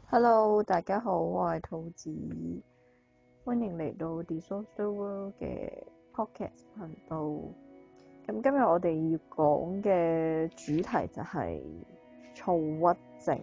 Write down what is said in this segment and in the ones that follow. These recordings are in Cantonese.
Hello，大家好，我係兔子，歡迎嚟到 The Social World 嘅 Podcast 頻道。咁今日我哋要講嘅主題就係躁鬱症。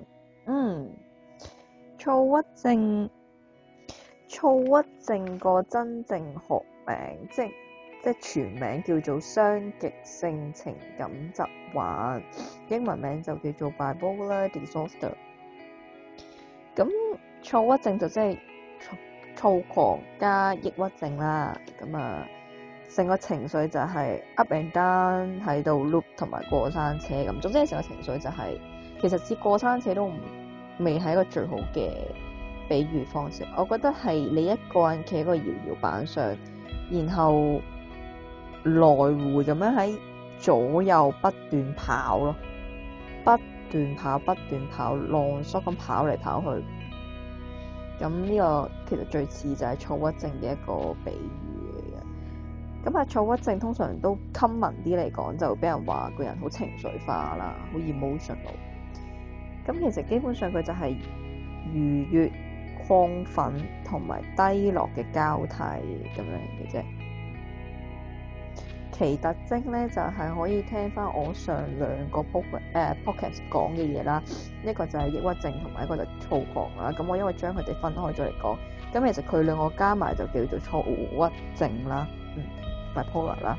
躁鬱症個真正學名，即全名叫做雙極性情感疾患，英文名就叫做 Bipolar Disorder。咁躁鬱症就即係躁狂加抑鬱症啦，咁成個情緒就係 up and down 喺度 loop 同埋過山車咁，總之成個情緒就係、其實似過山車都未係一個最好嘅比喻方式。我覺得係你一個人企喺個搖搖板上，然後來回咁樣喺左右不斷跑咯，不斷跑，浪縮咁跑嚟跑去。咁呢個其實最似就係躁鬱症嘅一個比喻嚟嘅。咁躁鬱症通常都 common 啲嚟講，就俾人話個人好情緒化啦，好 emotional。咁其實基本上佢就係愉悅、亢奮同埋低落嘅交替咁樣嘅啫。其特徵咧就係可以聽翻我上兩個 podcast 講嘅嘢啦，一個就係抑鬱症同埋一個就係躁狂啦。咁我因為將佢哋分開咗嚟講，咁其實佢兩個加埋就叫做躁鬱症啦，bipolar 啦。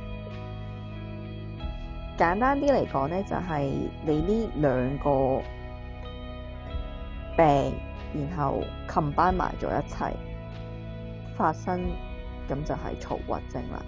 簡單啲嚟講咧，就係你呢兩個病，然後 combine 埋咗一齊發生，咁就係躁鬱症啦。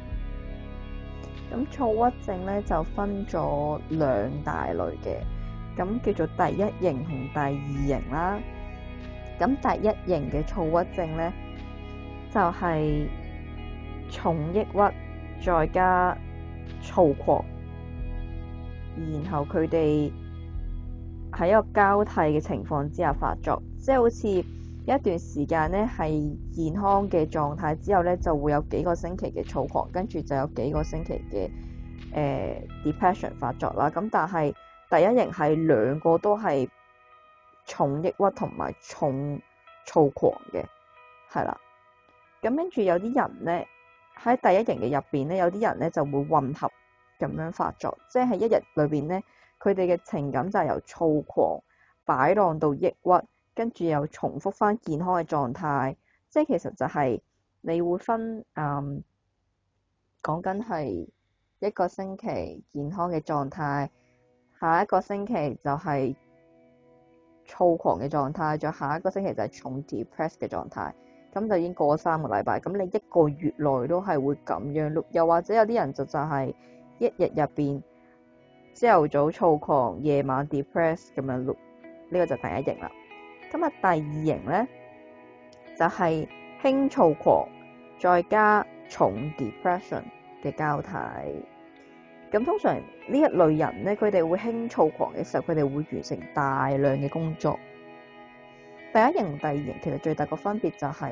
咁躁鬱症咧就分咗兩大類嘅，咁叫做第一型同第二型啦。咁第一型嘅躁鬱症咧就係重抑鬱再加躁狂，然後佢哋喺一個交替嘅情況之下發作，即係好似一段時間咧係健康嘅狀態之後咧，就會有幾個星期嘅躁狂，跟住就有幾個星期嘅depression 發作啦。咁但係第一型係兩個都係重抑鬱同埋重躁狂嘅，係啦。咁跟住有啲人咧喺第一型嘅入邊咧，有啲人咧就會混合咁樣發作，即係一日裏邊咧，佢哋嘅情感就係由躁狂擺盪到抑鬱，跟住又重複翻健康嘅狀態。即係其實就係你會分講緊係一個星期健康嘅狀態，下一個星期就係躁狂嘅狀態，再下一個星期就係重 depress 嘅狀態。咁就已經過咗3個禮拜，咁你一個月內都係會咁樣 loop。又或者有啲人就係一日入邊朝頭早躁狂，夜晚 depress 咁樣 loop。呢個就第一型啦。咁第二型咧就係輕躁狂再加重 depression 嘅交替。咁通常呢一類人咧，佢哋會輕躁狂嘅時候，佢哋會完成大量嘅工作。第一型同第二型其實最大個分別就係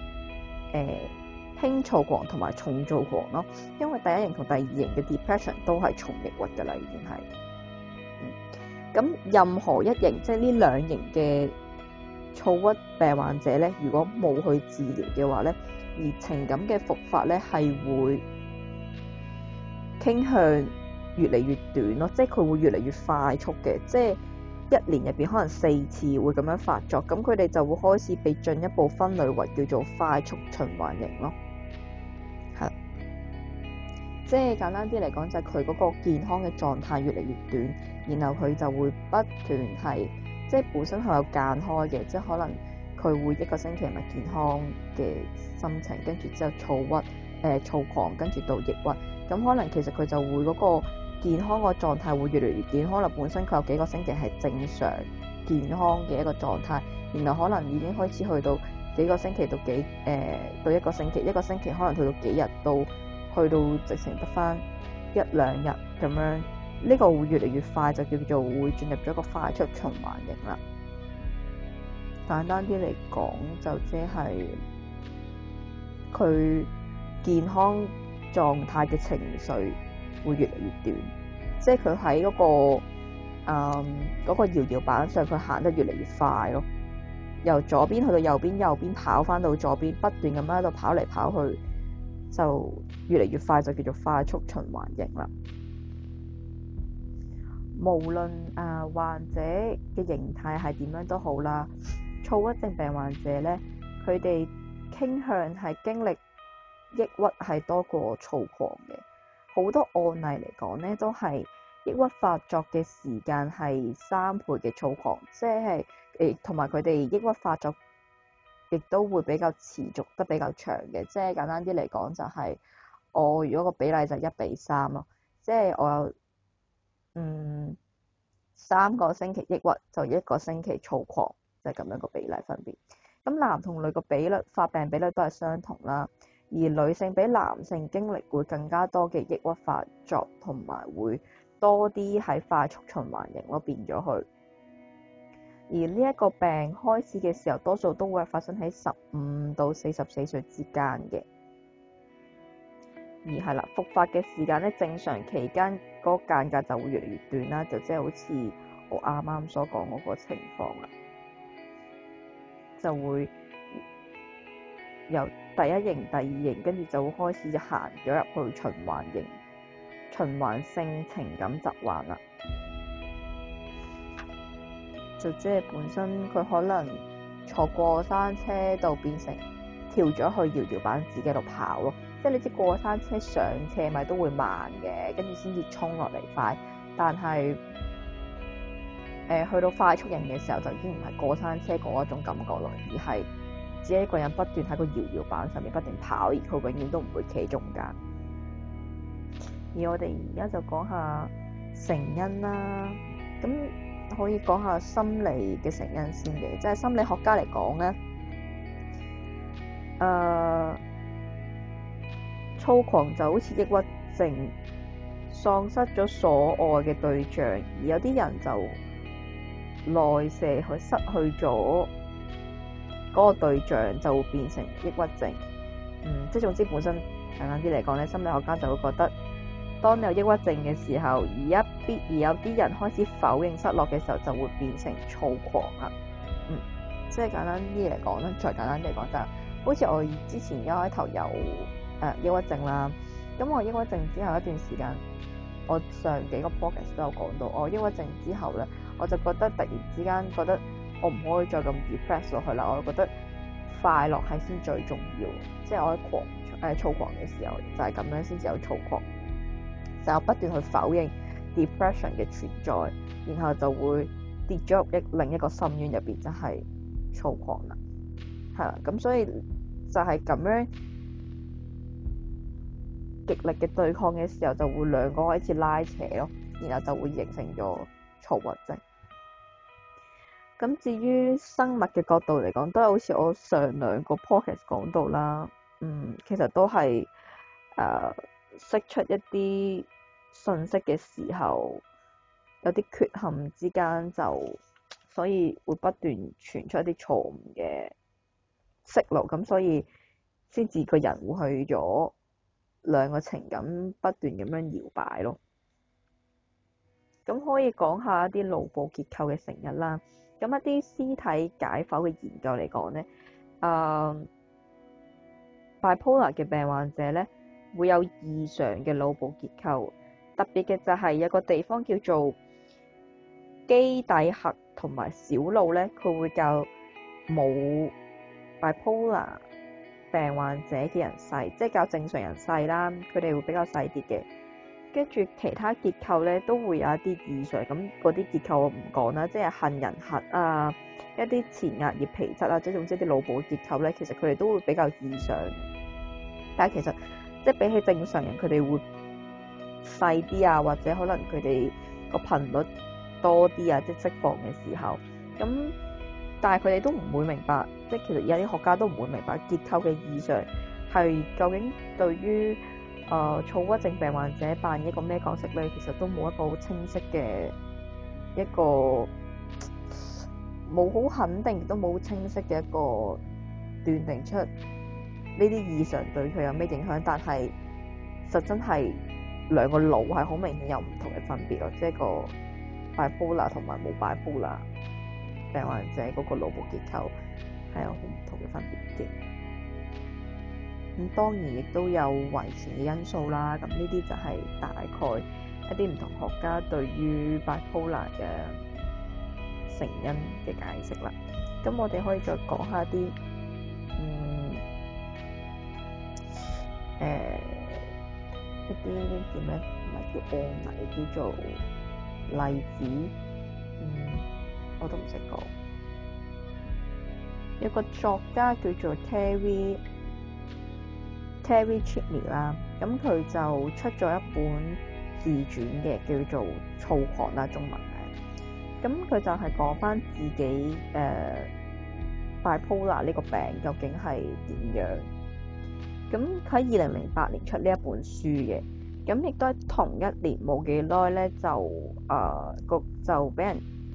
輕躁狂同埋重躁狂咯，因為第一型同第二型嘅 depression 都係重抑鬱㗎啦，已經係。咁任何一型，即係呢兩型嘅躁鬱病患者咧，如果冇去治療嘅話咧，而情感嘅復發咧係會傾向越嚟越短咯，即係佢會越嚟越快速嘅，即係一年入邊可能4次會咁樣發作，咁佢哋就會開始被進一步分類為叫做快速循環型咯。係，即係簡單啲嚟講，就係佢嗰個健康嘅狀態越嚟越短，然後佢就會不斷係即係本身係有間開嘅，即係可能佢會一個星期咪健康嘅心情，跟住之後躁狂，跟住到抑鬱。咁可能其實佢就會嗰個健康個狀態會越嚟越短，可能本身佢有幾個星期係正常健康嘅一個狀態，然後可能已經開始去到幾個星期到到一個星期，一個星期可能去到幾日，到去到直情得翻1-2日咁樣。呢個會越嚟越快，就叫做會進入咗一個快速循環型啦。簡單啲嚟講，就即係佢健康狀態嘅情緒會越嚟越短，即係佢喺嗰個搖搖板上，佢行得越嚟越快咯。 由左邊去到右邊，右邊跑翻到左邊，不斷咁喺度跑嚟跑去，就越嚟越快，就叫做快速循環型啦。無論患者嘅形態係點樣都好啦，躁鬱症病患者咧，佢哋傾向係經歷抑鬱係多過躁狂嘅。好多案例嚟講咧，都係抑鬱發作嘅時間係3倍嘅躁狂，即係同埋佢哋抑鬱發作亦都會比較持續得比較長嘅。即係簡單啲嚟講，就係我如果個比例就係1:3咯，即係我有3個星期抑鬱就1個星期躁狂，就係咁樣個比例分別。咁男同女個發病比率都係相同啦，而女性比男性經歷會更加多嘅抑鬱發作，同埋會多啲喺快速循環型咯，變咗去。而呢一個病開始嘅時候，多數都會發生喺15到44歲之間嘅。而係啦，復發嘅時間咧，正常期間嗰個間隔就會越嚟越短啦，就即係好似我啱啱所講嗰個情況啦，就會由第一型、第二型，跟住就會開始行咗入去循環型、循環性情感疾患啦。就即係本身佢可能坐過山車度變成跳咗去搖搖板自己度跑咯。即係你知過山車上斜咪都會慢嘅，跟住先至衝落嚟快。但係去到快速型嘅時候，就已經唔係過山車嗰一種感覺咯，而係只係一個人不斷喺個搖搖板上面不斷跑，而佢永遠都唔會企中間。而我哋而家就講下成因啦，咁可以講下心理嘅成因先嘅，即係心理學家嚟講咧，躁狂就好似抑鬱症，喪失咗所愛嘅對象，而有啲人就內射去失去咗嗰個對象，就會變成抑鬱症。即係總之本身簡單啲嚟講咧，心理學家就會覺得，當你有抑鬱症嘅時候，而有啲人開始否認失落嘅時候，就會變成躁狂啦。即係簡單啲嚟講咧，再簡單啲嚟講就係，好似我之前一開頭有抑鬱症啦，咁我抑鬱症之後一段時間，我上幾個 podcast 都有講到，我抑鬱症之後咧，我就覺得突然之間覺得我唔可以再咁 depress 落去啦，我覺得快樂係先最重要，即係我喺躁狂嘅時候就係咁樣先至有躁狂，就不斷去否認 depression 嘅存在，然後就會跌咗入另一個深淵入邊，就係躁狂啦，係啦，咁所以就係咁樣極力嘅對抗嘅時候，就會兩個開始拉扯咯，然後就會形成咗躁鬱症。咁至於生物嘅角度嚟講，都係好似我上2個 podcast 講到啦，其實都係釋出一啲信息嘅時候，有啲缺陷之間所以會不斷傳出一啲錯誤嘅息路，咁所以先至個人會去咗兩個情感不斷咁樣搖擺咯。咁可以講下一啲腦部結構嘅成因啦。咁一啲屍體解剖嘅研究嚟講咧，bipolar 嘅病患者咧會有異常嘅腦部結構，特別嘅就係有個地方叫做基底核同埋小腦咧，佢會較冇 bipolar 病患者嘅人細，即係較正常人細啦，佢哋會比較細啲嘅。跟住其他結構咧都會有一啲異常，咁嗰啲結構我唔講啦，即係杏仁核啊，一啲前額葉皮質啊，即係總之啲腦部結構咧，其實佢哋都會比較異常。但係其實即係比起正常人，佢哋會細啲啊，或者可能佢哋個頻率多啲啊，即係釋放嘅時候。咁但係佢哋都唔會明白，即係其實有啲學家都唔會明白結構嘅異常係究竟對於躁鬱症病患者扮演一個咩角色咧？其實都冇一個好清晰嘅一個冇好肯定，亦都冇清晰嘅一個斷定出呢啲異常對佢有咩影響。但係實真係兩個腦係好明顯有唔同嘅分別咯，即係個 bipolar 同埋冇 bipolar。 病患者嗰個腦部結構係有好唔同嘅分別嘅。咁當然亦都有遺傳嘅因素啦。咁呢啲就係大概一啲唔同學家對於 bipolar 嘅成因嘅解釋啦。咁我哋可以再講下啲一啲叫咩？唔係叫案例，叫做例子。我都唔識講。有個作家叫做 Terry Chitney 啦，咁佢就出咗一本自傳嘅，叫做《躁狂》啦，中文名。咁佢就係講返自己bipolar 呢個病究竟係點樣。咁佢喺2008年出呢一本書嘅，咁亦都係同一年冇幾耐咧，就俾人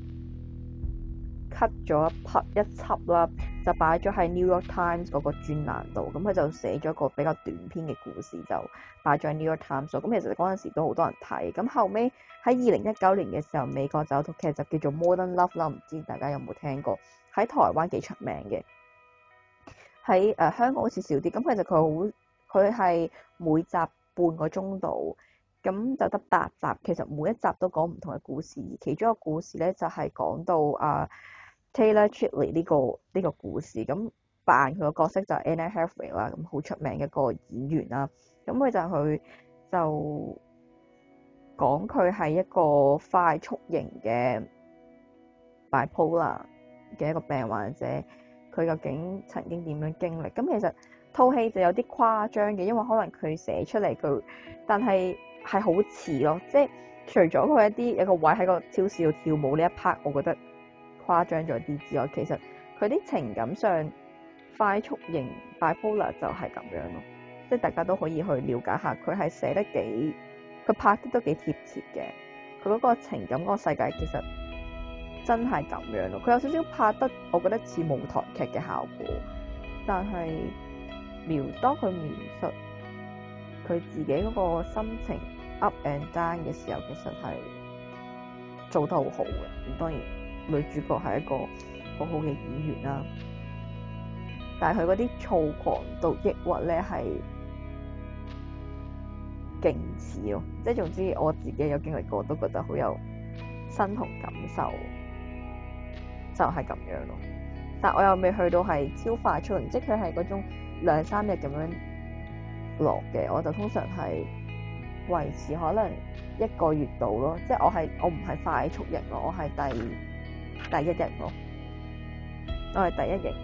cut 咗一輯啦，就擺咗喺 New York Times 嗰個專欄度。咁佢就寫咗個比較短篇嘅故事，就擺咗喺 New York Times 度。咁其實嗰陣時都好多人睇。咁後尾喺2019年嘅時候，美國就有套劇就叫做 Modern Love 啦，唔知大家有冇聽過？喺台灣幾出名嘅。喺香港好似少啲，咁其實佢係每集半個鐘度，咁就得8集。其實每一集都講唔同嘅故事，其中一個故事咧就係講到Taylor Chidley 呢個故事，咁扮佢個角色就係 Anne Hathaway 啦，咁好出名嘅一個演員啦。咁佢就講佢係一個快速型嘅 bipolar 嘅一個病患者。佢究竟曾經點樣經歷？咁其實套戲就有啲誇張嘅，因為可能佢寫出嚟但係好似咯，即係除咗佢有個位喺個超市度跳舞呢一 part，我覺得誇張咗啲之外，其實佢啲情感上快速型 bipolar 就係咁樣咯，即係大家都可以去了解下，佢係寫得佢拍得都幾貼切嘅，佢嗰個情感嗰個世界其實真係咁樣咯，佢有少少拍得，我覺得似舞台劇嘅效果，但係當佢描述佢自己嗰個心情 up and down 嘅時候，其實係做得好好嘅。咁當然女主角係一個好好嘅演員啦，但係佢嗰啲躁狂到抑鬱咧係勁似咯，即係總之我自己有經歷過，都覺得好有身同感受。就係咁樣咯，但我又未去到係超快速型，即係佢係嗰種2-3日咁樣落嘅，我就通常係維持可能1個月度咯，即係我唔係快速型咯，我係第一型咯，我係第一型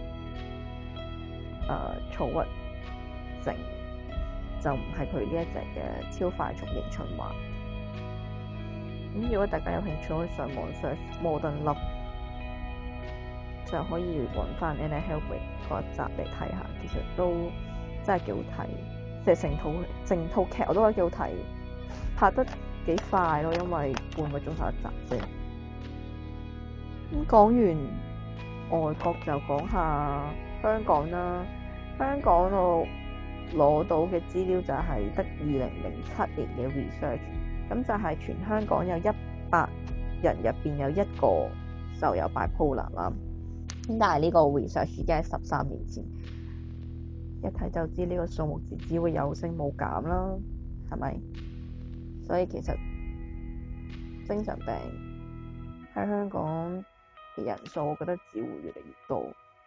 躁鬱症，就唔係佢呢一隻嘅超快速型循環。咁如果大家有興趣，可以上網 search Modern Love，就可以揾翻 Anne Hathaway 嗰一集嚟睇下，其實都真係幾好睇，即係成套劇我都覺得幾好睇，拍得幾快咯，因為半個鐘頭一集啫。咁講完外國就講下香港啦。香港我攞到嘅資料就係得2007年嘅 research， 咁就係全香港有100人入邊有1個就有 bipolar 啦。咁但係呢個 research 已經係13年前，一睇就知呢個數目字只會有升冇減啦，係咪？所以其實精神病喺香港嘅人數，我覺得只會越嚟越多。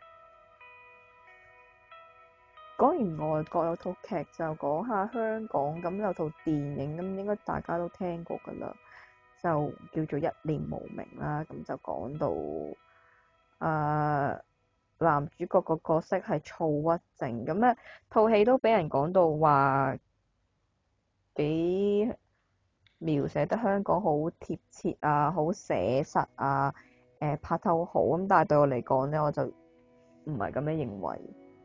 講完外國有套劇就講下香港，咁有套電影，咁應該大家都聽過㗎啦，就叫做《一念無明》啦。咁就講到男主角個角色係躁鬱症，咁咧套戲都俾人講到話幾描寫得香港好貼切啊，好寫實啊，拍得好好咁。但係對我嚟講咧，我就唔係咁樣認為，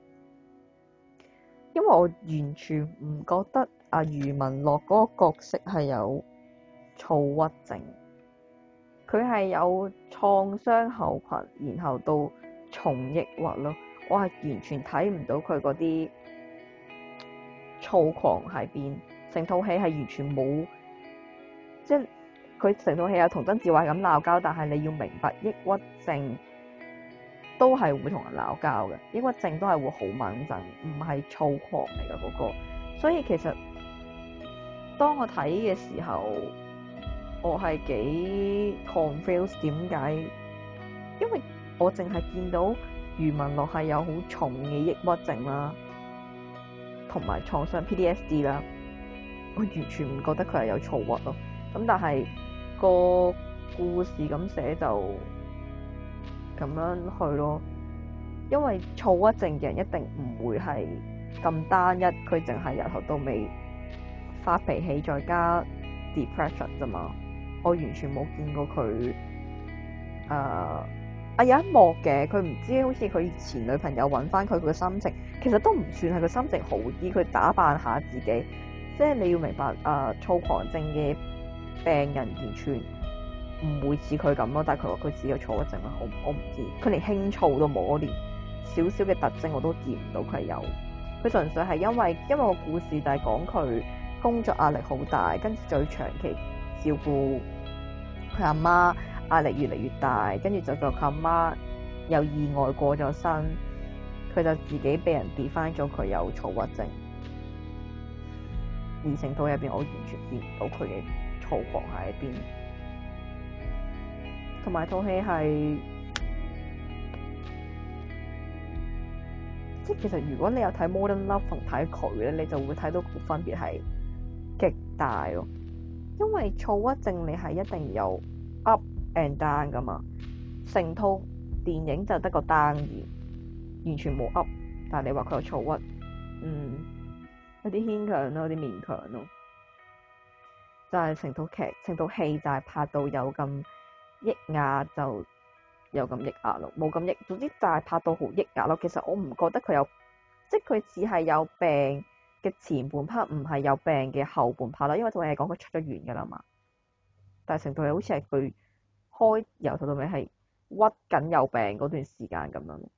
因為我完全唔覺得余文樂嗰個角色係有躁鬱症，佢係有創傷後群，然後到重抑鬱咯。我係完全睇唔到佢嗰啲躁狂喺邊，成套戲係完全冇，即係佢成套戲有同曾志偉咁鬧交，但係你要明白抑鬱症都係會同人鬧交嘅，抑鬱症都係會好猛震，唔係躁狂嚟嘅嗰個。所以其實當我睇嘅時候，我係幾 confused 點解？因為我淨係見到余文樂係有好重嘅抑鬱症啦，同埋創傷 PTSD 啦，我完全唔覺得佢係有躁鬱咯。咁但係個故事咁寫就咁樣去咯，因為躁鬱症嘅人一定唔會係咁單一，佢淨係由頭到尾發脾氣再加 depression 啫嘛。我完全冇見過佢有一幕嘅，佢唔知好似佢前女朋友揾翻佢嘅心情，其實都唔算係佢心情好啲，佢打扮下自己，即係你要明白躁狂症嘅病人完全唔會似佢咁咯，但係佢話佢自己有躁鬱症啦，我唔知，佢連輕躁都冇，我連少少嘅特徵我都見唔到佢有，佢純粹係因為個故事就係講佢工作壓力好大，跟住就要長期照顧佢阿媽，壓力越嚟越大，跟住就佢阿媽有意外過咗身，佢就自己俾人 define 咗佢有躁鬱症，而成套入邊我完全見唔到佢嘅躁狂喺邊，同埋套戲係即係其實如果你有睇 Modern Love 同睇佢咧，你就會睇到個分別係極大咯，因為躁鬱症你係一定有 up and down 噶嘛，成套電影就得個 down 完全冇 up， 但係你話佢有躁鬱，有啲牽強咯，有啲勉強咯，就係成套戲就係拍到有咁抑壓就有咁抑壓咯，冇咁抑，總之就係拍到好抑壓咯。其實我唔覺得佢有，即係佢只係有病嘅前半 part，唔係有病嘅後半 part 啦，因為套戲係講佢出咗院噶啦嘛，但係成套戲好似係佢開由頭到尾係屈緊有病嗰段時間咁樣。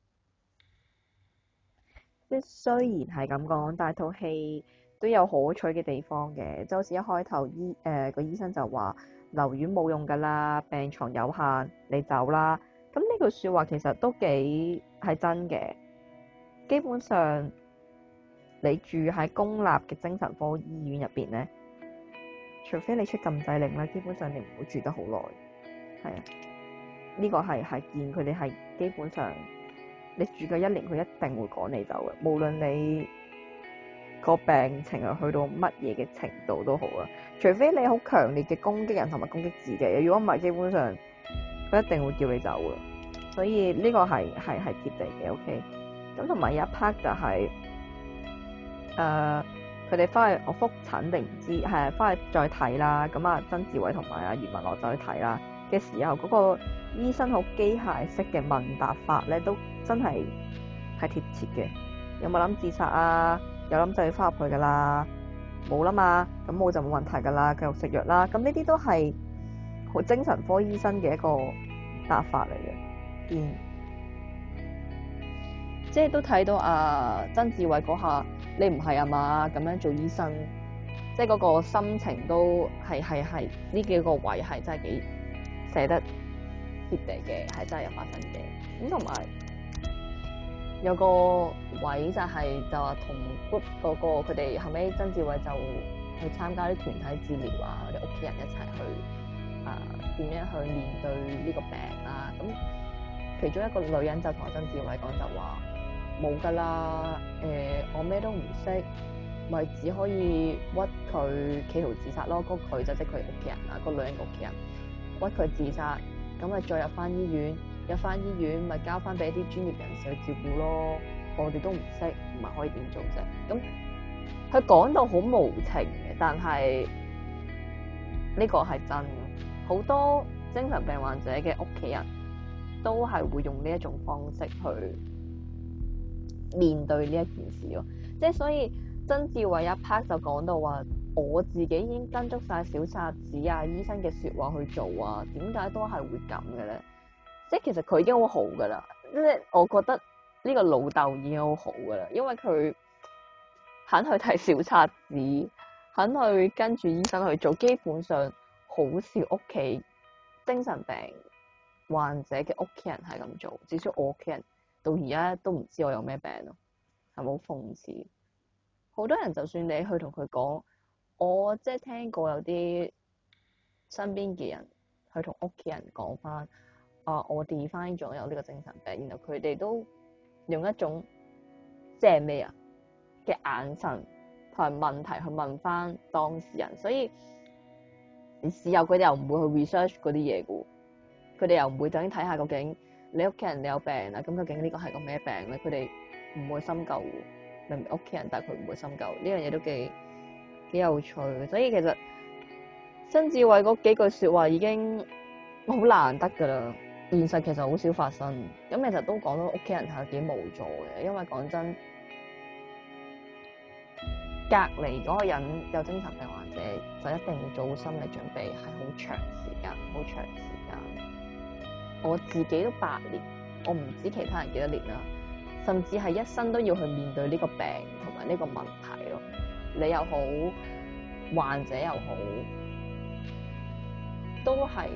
即係雖然係咁講，但係套戲都有可取嘅地方嘅，就好似一開頭個醫生就話留院冇用㗎啦，病床有限，你走啦。咁呢句説話其實都幾係真嘅。基本上你住喺公立嘅精神科醫院入邊咧，除非你出禁制令啦，基本上你唔會住得好耐。係啊，呢個係見佢哋係基本上。你住夠1年，佢一定會趕你走嘅。無論你個病情係去到乜嘢嘅程度都好啦，除非你好強烈嘅攻擊人同埋攻擊自己。如果唔係，基本上佢一定會叫你走嘅。所以呢個係貼地嘅。OK，咁同埋有一 part 就係佢哋翻去我覆診定唔知係翻去再睇啦。咁啊，曾志偉同埋阿余文樂再去睇啦嘅時候，嗰個醫生好機械式嘅問答法咧，都真係貼切嘅。有冇諗自殺啊？有諗就要翻入去噶啦，冇啦嘛，咁我就冇問題噶啦，繼續食藥啦。咁呢啲都係好精神科醫生嘅一個答法嚟嘅。即係都睇到曾志偉嗰下，你唔係啊嘛咁樣做醫生，即係嗰個心情都係呢幾個位係真係幾寫得貼地嘅，係真係有發生嘅。咁同埋有個位就話同 group 嗰個佢哋後尾曾志偉就去參加啲團體治療啊，啲屋企人一齊去點樣去面對呢個病啊。咁其中一個女人就同曾志偉講就話冇㗎啦，我咩都唔識，咪只可以屈佢企圖自殺咯。嗰佢就即係佢屋企人啦，個女人嘅屋企人屈佢自殺，咁咪再入翻醫院。入翻醫院咪交翻俾啲專業人士去照顧咯，我哋都唔識，唔係可以點做啫？咁佢講到好無情嘅，但係呢個係真嘅。好多精神病患者嘅屋企人都係會用呢一種方式去面對呢一件事咯。即係所以曾志偉一 part 就講到話，我自己已經跟足晒小冊子啊、醫生嘅説話去做啊，點解都係會咁嘅咧？即係其實佢已經好好噶啦，即係我覺得呢個老豆已經好好噶啦，因為佢肯去睇小冊子，肯去跟住醫生去做，基本上好少屋企精神病患者嘅屋企人係咁做，至少我屋企人到而家都唔知我有咩病咯，係咪好諷刺？好多人就算你去同佢講，我即係聽過有啲身邊嘅人去同屋企人講翻，我 define 咗有呢個精神病，然後佢哋都用一種即係咩啊嘅眼神同埋問題去問翻當事人，所以事後佢哋又唔會去 research 嗰啲嘢嘅，佢哋又唔會究竟睇下究竟你屋企人你有病啊，咁究竟呢個係個咩病咧？佢哋唔會深究，明明屋企人，但係佢唔會深究，呢樣嘢都幾有趣。所以其實曾志偉嗰幾句説話已經好難得㗎啦，現實其實好少發生。咁其實都講到屋企人係幾無助嘅，因為講真，隔離嗰個人有精神病患者就一定要做好心理準備，係好長時間，好長時間。我自己都8年，我唔知其他人幾多年啦，甚至係一生都要去面對呢個病同埋呢個問題咯。你又好，患者又好，都係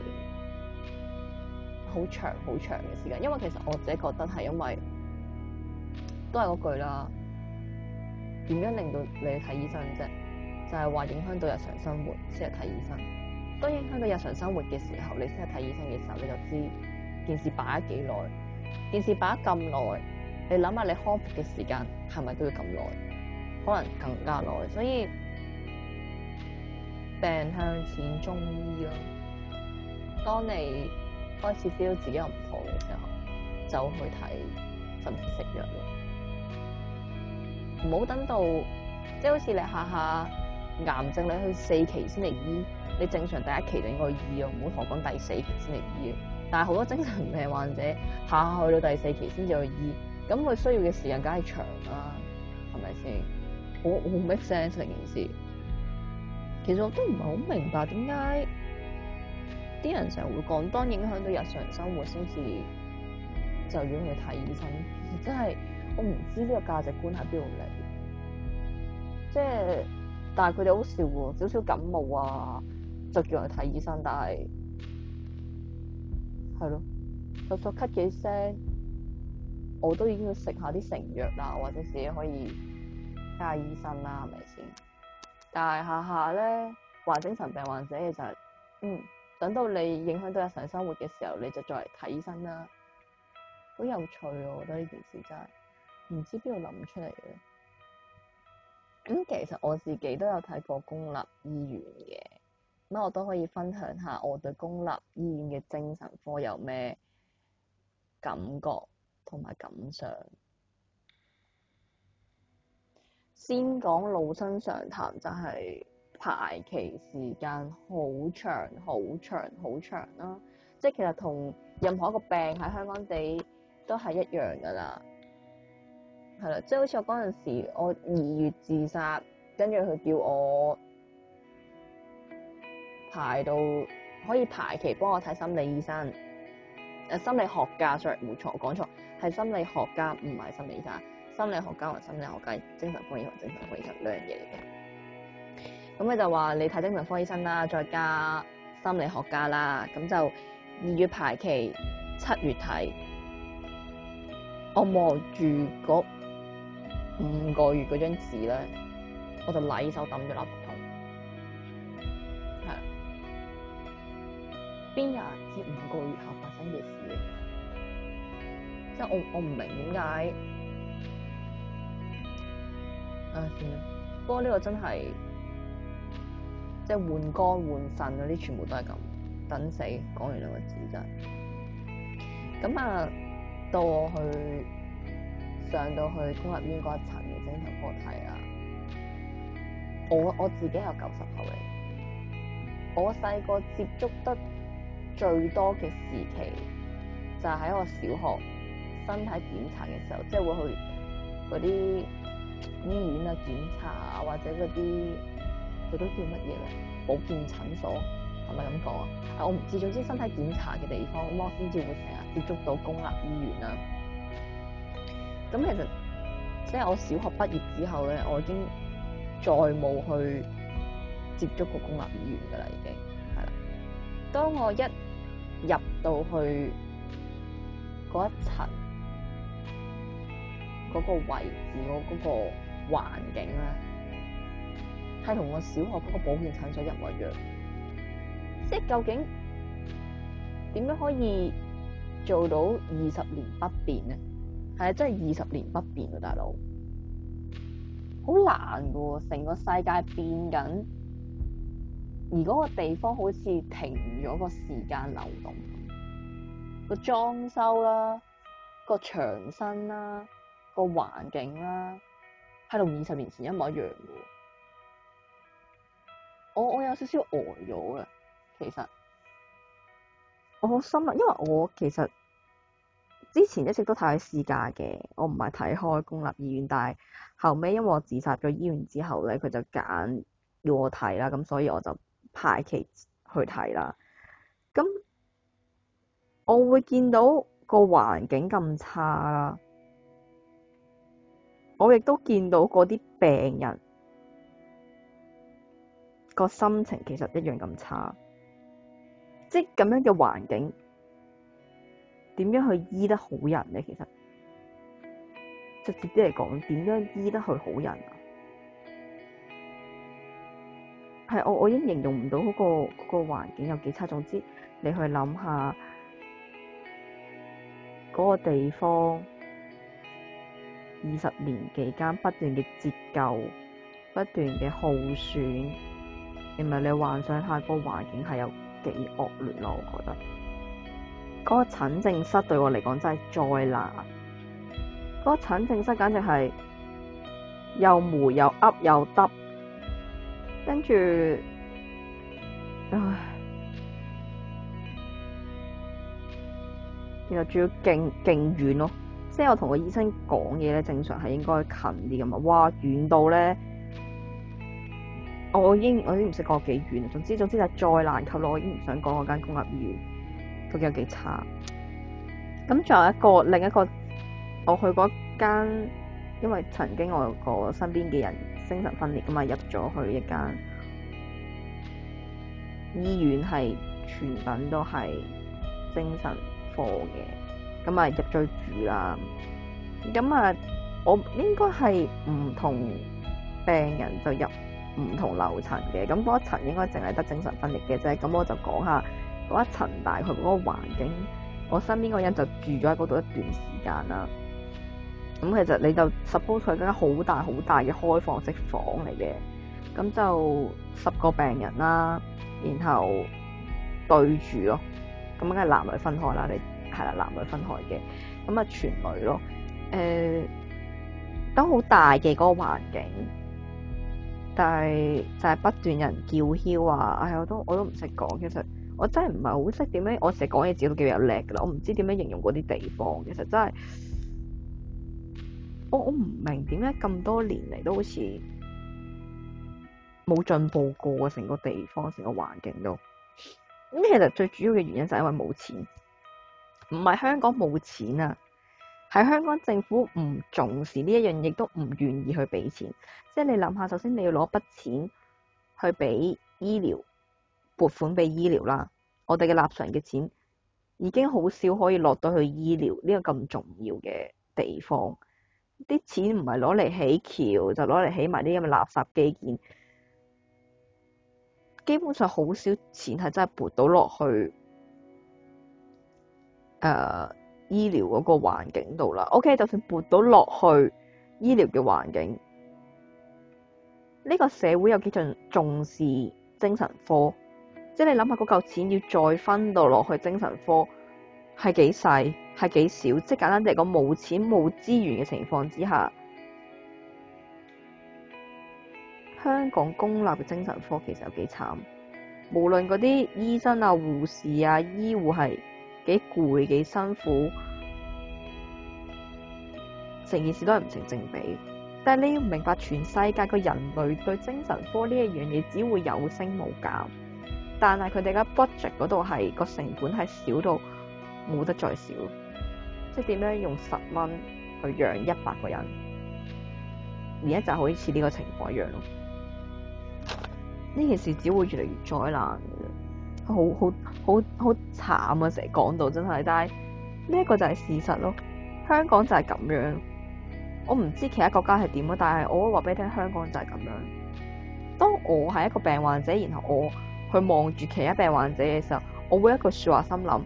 好長好長嘅時間。因為其實我自己覺得係因為都係嗰句啦，點樣令到你去睇醫生啫？就係話影響到日常生活先係睇醫生。當影響到日常生活嘅時候，你先係睇醫生嘅時候，你就知件事擺咗幾耐。件事擺咗咁耐，你諗下你康復嘅時間係咪都要咁耐？可能更加耐。所以病向淺中醫咯。當你開始 feel 自己有唔妥嘅時候，就去睇，甚至食藥咯。唔好等到即係好似你下下癌症你去4期先嚟醫，你正常第1期就應該醫咯，唔好同我講第4期先嚟醫。但係好多精神病患者下下去到第4期先至去醫，咁佢需要嘅時間梗係長啦，係咪先？好 make sense 成件事。其實我都唔係好明白點解啲人成日會講，當影響到日常生活先至就要去睇醫生。其實真係我唔知呢個價值觀喺邊度嚟。即係，但係佢哋好笑喎，少少感冒啊就叫人去睇醫生，但係係咯，就索咳幾聲，我都已經要食下啲成藥啦，或者自己可以睇下醫生啦，係咪先？但係下下咧患精神病患者嘅就係，等到你影響到日常生活嘅時候，你就再嚟睇醫生啦，好有趣啊！我覺得呢件事真係唔知邊度諗出嚟嘅。咁其實我自己都有睇過公立醫院嘅，咁我都可以分享下我對公立醫院嘅精神科有咩感覺同埋感想。先講老生常談，就係排期時間好長好長好長啦，即係其實同任何一個病喺香港地都係一樣噶啦，係啦，即係好似我嗰陣時，我2月自殺。跟住佢叫我排到可以排期幫我睇心理醫生，心理學家，sorry，冇錯，我講錯，係心理學家，唔係心理醫生。心理學家同心理學家，精神科醫生同精神科醫生兩樣嘢嚟嘅。咁佢就話你睇精神科醫生啦，再加心理學家啦，咁就2月排期，7月睇。我望住嗰5個月嗰張紙咧，我就禮手抌咗垃圾桶，係邊有人知5個月後發生嘅事嚟？即係我唔明點解，算啦。不過呢個真係即係換肝換腎嗰啲，全部都係咁等死。講完兩個字真係咁啊！到我上到去公立醫院嗰一層嘅精神科睇啦。我自己係90後嚟，我細個接觸得最多嘅時期就係喺我小學身體檢查嘅時候，即係會去嗰啲醫院啊檢查啊，或者嗰啲叫乜嘢咧？保健診所係咪咁講啊？我唔知，總之身體檢查嘅地方，咁我先至會成日接觸到公立醫院啦。咁其實即係我小學畢業之後咧，我已經再冇去接觸過公立醫院噶啦，已經係啦。當我一入到去嗰一層嗰個位置嗰個環境咧，係同我小學嗰個保健診所一模一樣。即係究竟點樣可以做到20年不變咧？係啊，真係20年不變啊，大佬，好難噶喎！成個世界變緊，而嗰個地方好似停咗個時間流動，個裝修啦，個牆身啦，個環境啦，係同20年前一模一樣嘅。我有少少呆咗嘅，其實我好心啊，因為我其實之前一直都睇私家嘅，我唔係睇開公立醫院，但係後尾因為我自殺咗醫院之後咧，佢就揀要我睇啦，咁所以我就排期去睇啦。咁我會見到個環境咁差啦，我亦都見到嗰啲病人個心情其實一樣咁差，即係咁樣嘅環境，點樣去醫得好人咧？其實直接啲嚟講，點樣醫得去好人啊？係我已經形容唔到嗰個環境有幾差。總之你去諗下嗰個地方20年期間不斷嘅折舊，不斷嘅耗損，然後你幻想下個環境係有幾惡劣咯。我覺得嗰個診症室對我嚟講真係災難。嗰個診症室簡直係又霉又噏又耷，跟住唉，然後仲要勁遠咯。即係我同個醫生講嘢咧，正常係應該近啲㗎嘛。哇，遠到咧，我已經唔識講幾遠。總之就係災難級咯。我已經唔想講嗰間公立醫院究竟有幾差。咁仲有另一個，我去嗰間，因為曾經我有個身邊嘅人精神分裂㗎嘛，入咗去一間醫院，係全品都係精神科嘅，咁啊入咗去住啦。咁啊，我應該係唔同病人就入唔同樓層嘅，咁嗰一層應該淨係得精神分裂嘅啫。咁我就講下嗰一層大概嗰個環境。我身邊個人就住咗喺嗰度一段時間啦。咁其實你就 suppose 佢間好大嘅開放式房嚟嘅，咁就10個病人啦，然後對住咯，咁梗係男女分開啦。你係啦，男女分開嘅，咁啊全女咯。都好大嘅嗰個環境，但係就係不斷人叫囂啊！唉，我都唔識講。其實我真係唔係好識點樣，我成日講嘢自己都幾有叻噶啦。我唔知點樣形容嗰啲地方。其實真係我唔明點解咁多年嚟都好似冇進步過啊！成個地方，成個環境都咁。其實最主要嘅原因就係因為冇錢，唔係香港冇錢啊，係香港政府唔重視呢一樣，亦都唔願意去俾錢。即係你諗下，首先你要攞筆錢去俾醫療，撥款俾醫療啦。我哋嘅納稅人嘅錢已經好少可以落到去醫療呢個咁重要嘅地方。啲錢唔係攞嚟起橋，就攞嚟起埋啲咁嘅垃圾基建。基本上好少錢係真係撥到落去醫療嗰個環境度啦。OK， 就算撥到落去醫療嘅環境，呢個社會有幾重視精神科？即係你諗下嗰嚿錢要再分到落去精神科，係幾細，係幾少？即係簡單啲嚟講，冇錢冇資源嘅情況之下，香港公立嘅精神科其實有幾慘。無論嗰啲醫生啊、護士啊、醫護係幾攰、幾辛苦，成件事都係唔成正比。但係你要明白，全世界個人類對精神科呢一樣嘢只會有升冇減，但係佢哋嘅 budget 嗰度係個成本係少到冇得再少。即係點樣用10蚊去養100個人，而家就好似呢個情況一樣咯。呢件事只會越嚟越災難嘅，好慘啊！成日講到真係，但係呢一個就係事實咯。香港就係咁樣，我唔知其他國家係點啊，但係我會話俾你聽，香港就係咁樣。當我係一個病患者，然後我去望住其他病患者嘅時候，我會一句説話心諗：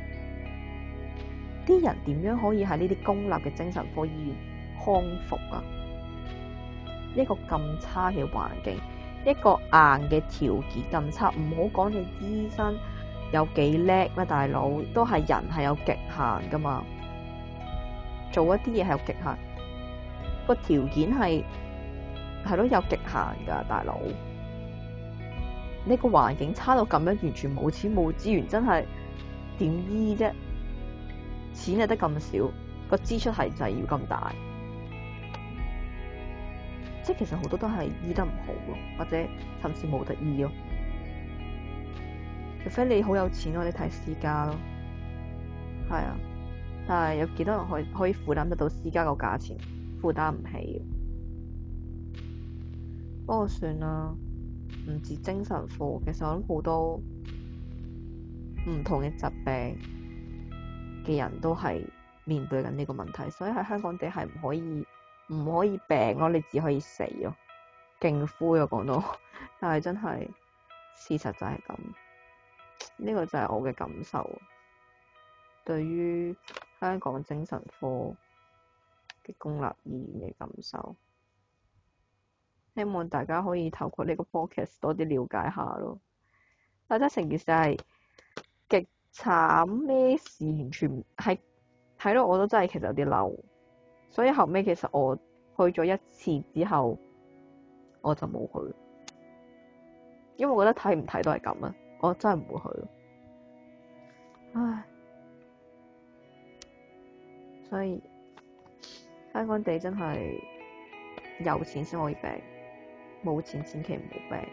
啲人點樣可以喺呢啲公立嘅精神科醫院康復啊？一個咁差嘅環境，一個硬嘅條件咁差，唔好講你醫生有幾叻啦，大佬都係人係有極限噶嘛，做一啲嘢係有極限，個條件係咯有極限噶，大佬呢個環境差到咁樣，完全冇錢冇資源，真係點醫啫？錢係得咁少，個支出係就係要咁大。即係其實好多都係醫得唔好咯，或者甚至冇得醫咯。除非你好有錢咯，你睇私家咯，係啊。但係有幾多人可以負擔得到私家個價錢？負擔唔起。不過算啦，唔止精神科，其實我諗好多唔同嘅疾病嘅人都係面對緊呢個問題，所以喺香港地係唔可以病咯，你只可以死咯，勁灰啊講到，但係真係事實就係咁，呢個就係我嘅感受，對於香港精神科嘅公立醫院嘅感受，希望大家可以透過呢個 podcast 多啲了解下咯。但係成件事係極慘，咩事完全係睇到我都真係其實有啲嬲。所以後尾其實我去咗一次之後，我就冇去，因為我覺得睇唔睇都係咁啊，我真係唔會去。唉，所以香港地真係有錢先可以病，冇錢千祈唔好病，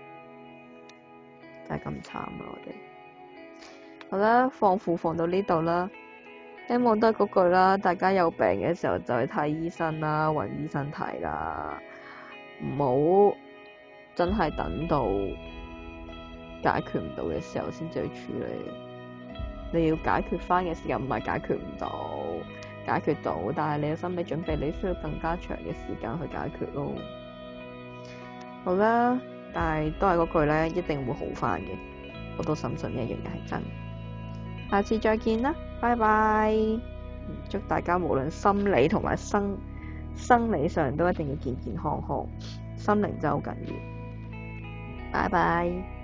就係咁慘啊！我哋好啦，放負放到呢度啦。希望都係嗰句啦，大家有病嘅時候就去睇醫生啦，揾醫生睇啦，唔好真係等到解決唔到嘅時候先至去處理。你要解決翻嘅時間唔係解決唔到，解決到，但係你有心理準備，你需要更加長嘅時間去解決咯。好啦，但係都係嗰句咧，一定會好翻嘅，我都深信呢一樣嘢係真。下次再見啦，拜拜！祝大家無論心理同埋生理上都一定要健健康康，心靈真係好緊要。拜拜。